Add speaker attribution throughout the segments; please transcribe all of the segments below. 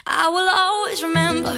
Speaker 1: I will always remember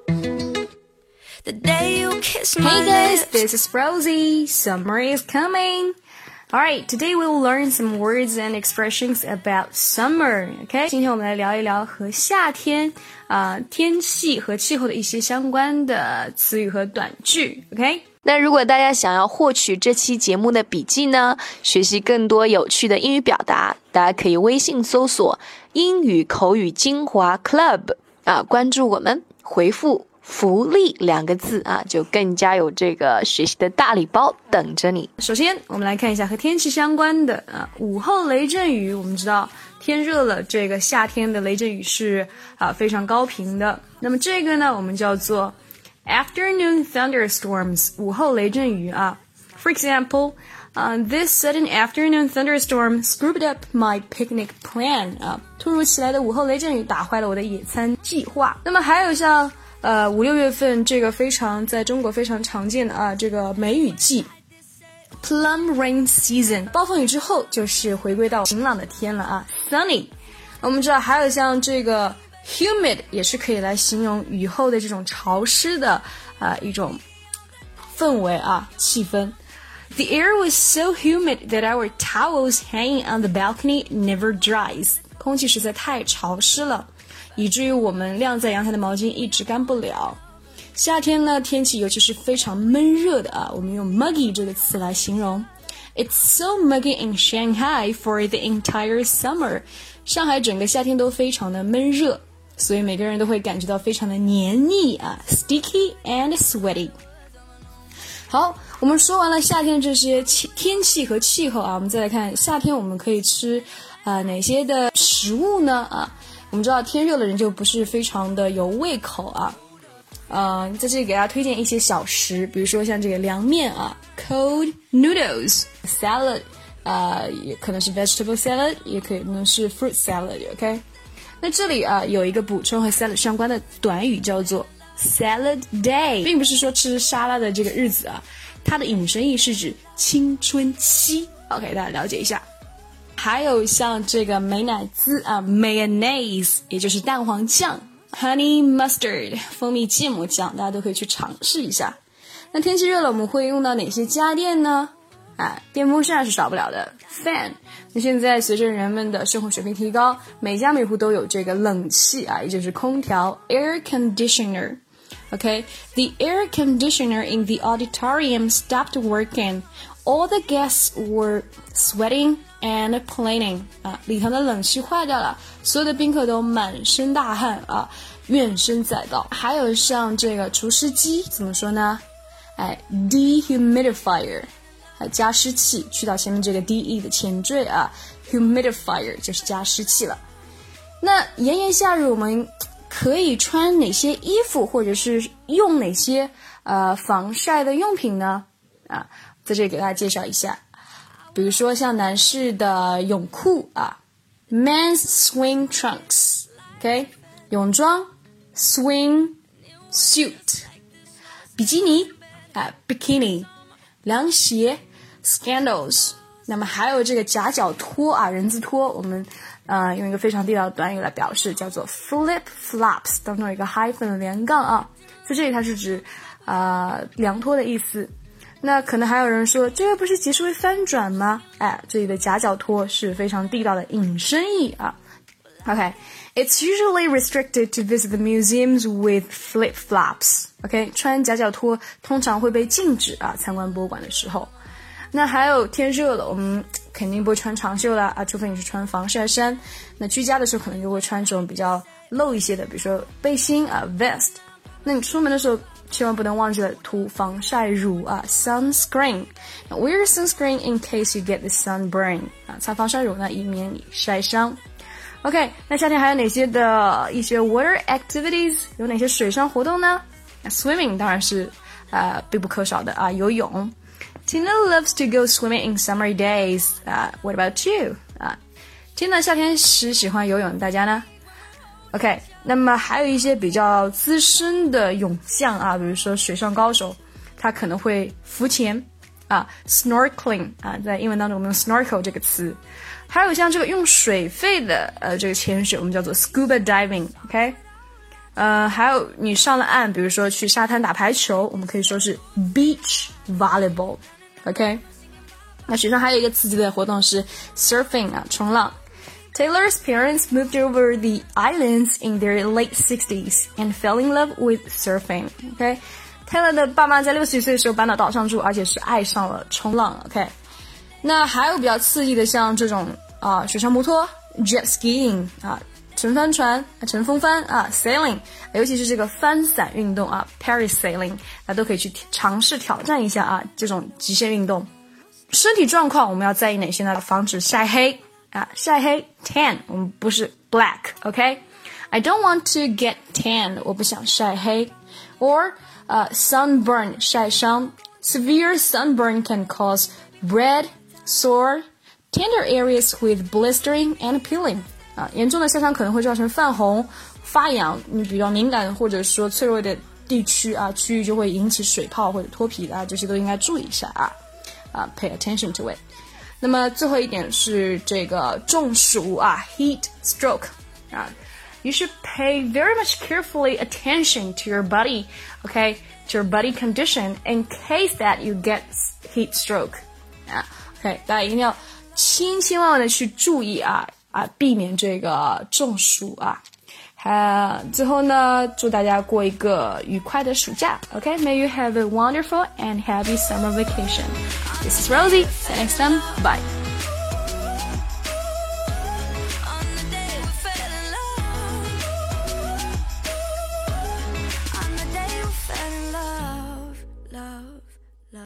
Speaker 1: the day you kissed my
Speaker 2: Hey guys,
Speaker 1: lips.
Speaker 2: this is Rosie. Summer is coming. Alright, today we will learn some words and expressions about summer. Okay, 今天我们来聊一聊和夏天天气和气候的一些相关的词语和短句。Okay。
Speaker 3: 那如果大家想要获取这期节目的笔记呢，学习更多有趣的英语表达，大家可以微信搜索英语口语精华 Club 关注我们，回复福利2个字就更加有这个学习的大礼包等着你。
Speaker 2: 首先我们来看一下和天气相关的午后雷阵雨。我们知道天热了，这个夏天的雷阵雨是非常高频的。那么这个呢，我们叫做Afternoon thunderstorms, 午后雷阵雨For example, this sudden afternoon thunderstorm screwed up my picnic plan. 突如其来的午后雷阵雨打坏了我的野餐计划。那么还有像5、6月份这个在中国非常常见的这个梅雨季 Plum rain season， 暴风雨之后就是回归到晴朗的天了Sunny。我们知道还有像这个humid 也是可以来形容雨后的这种潮湿的一种氛围气氛。The air was so humid that our towels hanging on the balcony never dries. 空气实在太潮湿了，以至于我们晾在阳台的毛巾一直干不了。夏天呢，天气尤其是非常闷热的我们用 muggy 这个词来形容。It's so muggy in Shanghai for the entire summer. 上海整个夏天都非常的闷热。所以每个人都会感觉到非常的黏腻sticky and sweaty。 好，我们说完了夏天这些天气和气候我们再来看夏天我们可以吃哪些的食物呢我们知道天热的人就不是非常的有胃口在这里给大家推荐一些小食，比如说像这个凉面cold noodles salad 也可能是 vegetable salad， 也可能是 fruit salad OK。那这里有一个补充和 salad 相关的短语叫做 salad day， 并不是说吃沙拉的这个日子它的引申义是指青春期 OK， 大家了解一下。还有像这个美乃滋mayonnaise 也就是蛋黄酱 honey mustard 蜂蜜芥末酱，大家都可以去尝试一下。那天气热了我们会用到哪些家电呢电风扇是少不了的 fan。 那现在随着人们的生活水平提高，每家每户都有这个冷气也就是空调 air conditioner。 Okay, the air conditioner in the auditorium stopped working. All the guests were sweating and complaining. 礼堂的冷气坏掉了，所有的宾客都满身大汗怨声载道。还有像这个除湿机怎么说呢dehumidifier，加湿器，去到前面这个 de 的前缀humidifier 就是加湿器了。那炎炎夏日我们可以穿哪些衣服，或者是用哪些防晒的用品呢在这里给大家介绍一下。比如说像男士的泳裤men's swim trunks OK， 泳装 swim suit， 比基尼bikini， 凉鞋Scandals。 那么还有这个夹脚拖人字拖，我们用一个非常地道的短语来表示，叫做 flip flops， 当中有一个 hyphen 连杠在这里它是指凉拖的意思。那可能还有人说，这个不是解释为翻转吗这里的夹脚拖是非常地道的引申义OK, it's usually restricted to visit the museums with flip-flops. OK, 穿夹脚拖通常会被禁止参观博物馆的时候。那还有天热了，我们肯定不会穿长袖了除非你是穿防晒衫。那居家的时候可能就会穿这种比较露一些的，比如说背心vest。那你出门的时候千万不能忘记了涂防晒乳sunscreen. Wear sunscreen in case you get the sunburn. 擦防晒乳呢，以免你晒伤。OK， 那夏天还有哪些的一些 water activities， 有哪些水上活动呢？Swimming 当然是必不可少的游泳。Tina loves to go swimming in summer days. What about you? Tina 夏天时喜欢游泳，大家呢？OK， 那么还有一些比较资深的泳将比如说水上高手，他可能会浮潜snorkeling 在英文当中我们用 snorkel 这个词。还有像这个用水肺的这个潜水，我们叫做 scuba diving。OK， 还有你上了岸，比如说去沙滩打排球，我们可以说是 beach volleyball。 OK， 那水上还有一个刺激的活动是 surfing 啊，冲浪。Taylor's parents moved over the islands in their late 60s and fell in love with surfing. OK， Taylor 的爸妈在60岁的时候搬到岛上住，而且是爱上了冲浪。OK， 那还有比较刺激的，像这种水上摩托 jet skiing 乘帆船、乘风帆sailing， 尤其是这个帆伞运动parasailing， 都可以去尝试挑战一下这种极限运动。身体状况我们要在意哪些呢？防止晒黑晒黑 tan， 我们不是 black。 OK，I don't want to get tan， 我不想晒黑。 Or sunburn 晒伤， Severe sunburn can cause red, sore, tender areas with blistering and peeling。严重的晒伤可能会造成泛红、发痒，你比较敏感或者说脆弱的地区区域就会引起水泡或者脱皮这些都应该注意一下pay attention to it。 那么最后一点是这个中暑heat stroke You should pay very much carefully attention to your body, okay, to your body condition in case that you get heat stroke OK， 大家一定要千千万万的去注意避免这个中暑最后呢，祝大家过一个愉快的暑假 OK， May you have a wonderful and happy summer vacation. This is Rosie. See you next time. Bye.